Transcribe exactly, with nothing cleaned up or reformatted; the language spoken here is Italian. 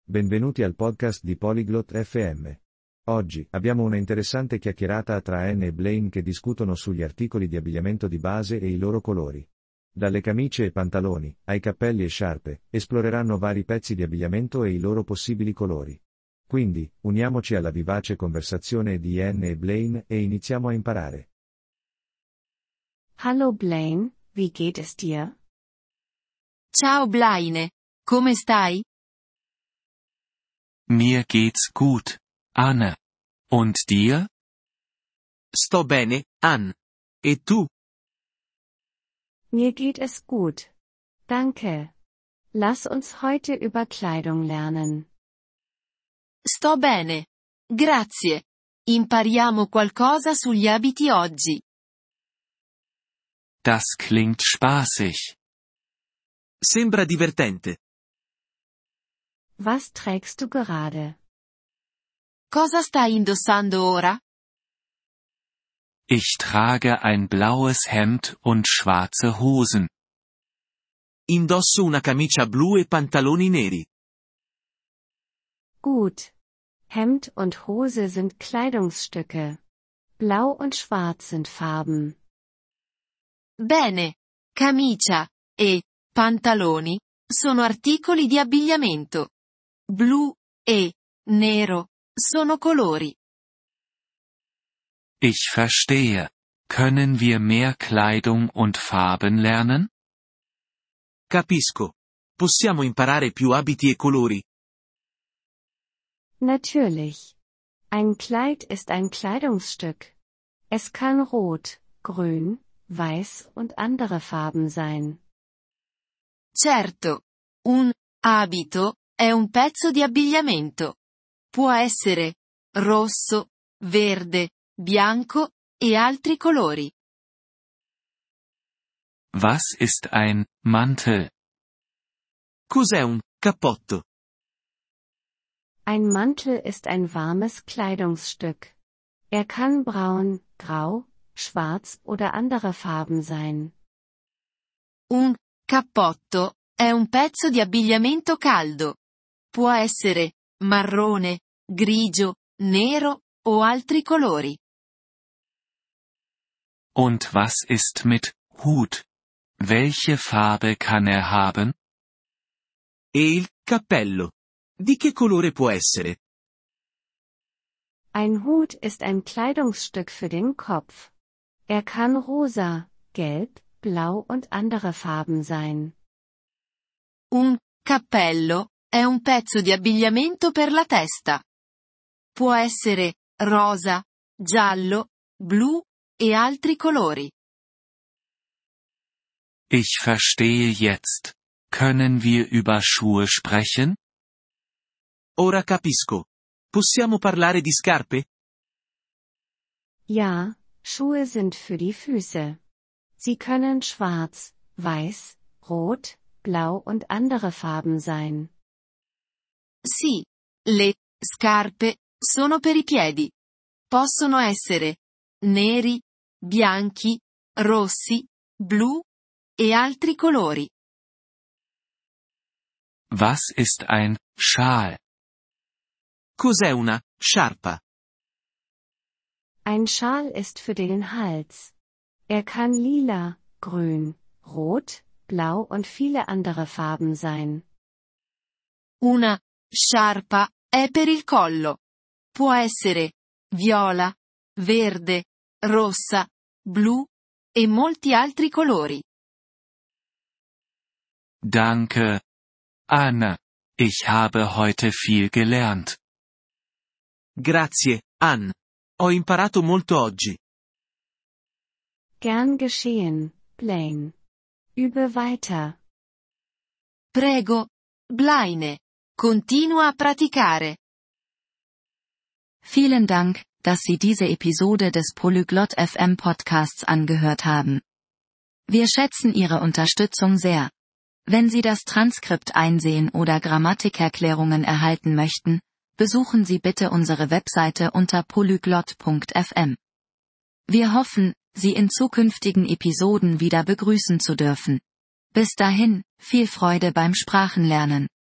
Benvenuti al podcast di Polyglot F M. Oggi, abbiamo una interessante chiacchierata tra Anne e Blaine che discutono sugli articoli di abbigliamento di base e i loro colori. Dalle camicie e pantaloni, ai cappelli e sciarpe, esploreranno vari pezzi di abbigliamento e i loro possibili colori. Quindi, uniamoci alla vivace conversazione di Anne e Blaine e iniziamo a imparare. Hallo Blaine, wie geht es dir? Ciao Blaine, come stai? Mir geht's gut, Anne. Und dir? Sto bene, Anne. E tu? Mir geht es gut. Danke. Lass uns heute über Kleidung lernen. Sto bene. Grazie. Impariamo qualcosa sugli abiti oggi. Das klingt spaßig. Sembra divertente. Was trägst du gerade? Cosa stai indossando ora? Ich trage ein blaues Hemd und schwarze Hosen. Indosso una camicia blu e pantaloni neri. Gut. Hemd und Hose sind Kleidungsstücke. Blau und Schwarz sind Farben. Bene. Camicia e pantaloni sono articoli di abbigliamento. Blu e nero sono colori. Ich verstehe. Können wir mehr Kleidung und Farben lernen? Capisco. Possiamo imparare più abiti e colori? Natürlich. Ein Kleid ist ein Kleidungsstück. Es kann rot, grün, weiß und andere Farben sein. Certo. Un abito è un pezzo di abbigliamento. Può essere rosso, verde, bianco e altri colori. Was ist ein Mantel? Cos'è un cappotto? Ein Mantel ist ein warmes Kleidungsstück. Er kann braun, grau, schwarz oder andere Farben sein. Un cappotto è un pezzo di abbigliamento caldo. Può essere marrone, grigio, nero o altri colori. Und was ist mit Hut? Welche Farbe kann er haben? E il cappello? Di che colore può essere? Ein Hut ist ein Kleidungsstück für den Kopf. Er kann rosa, gelb, blau und andere Farben sein. Un cappello è un pezzo di abbigliamento per la testa. Può essere rosa, giallo, blu e altri colori. Ich verstehe jetzt. Können wir über Schuhe sprechen? Ora capisco. Possiamo parlare di scarpe? Ja, Schuhe sind für die Füße. Sie können schwarz, weiß, rot, blau und andere Farben sein. Sì, le scarpe sono per i piedi. Possono essere neri, bianchi, rossi, blu e altri colori. Was ist ein Schal? Cos'è una sciarpa? Ein Schal ist für den Hals. Er kann lila, grün, rot, blau und viele andere Farben sein. Una sciarpa è per il collo. Può essere viola, verde, rossa, blu e molti altri colori. Danke, Anne. Ich habe heute viel gelernt. Grazie, Anne. Ho imparato molto oggi. Gern geschehen, Blaine. Übe weiter. Prego, Blaine. Continua a praticare. Vielen Dank, dass Sie diese Episode des Polyglot F M Podcasts angehört haben. Wir schätzen Ihre Unterstützung sehr. Wenn Sie das Transkript einsehen oder Grammatikerklärungen erhalten möchten, besuchen Sie bitte unsere Webseite unter polyglot punkt f m. Wir hoffen, Sie in zukünftigen Episoden wieder begrüßen zu dürfen. Bis dahin, viel Freude beim Sprachenlernen.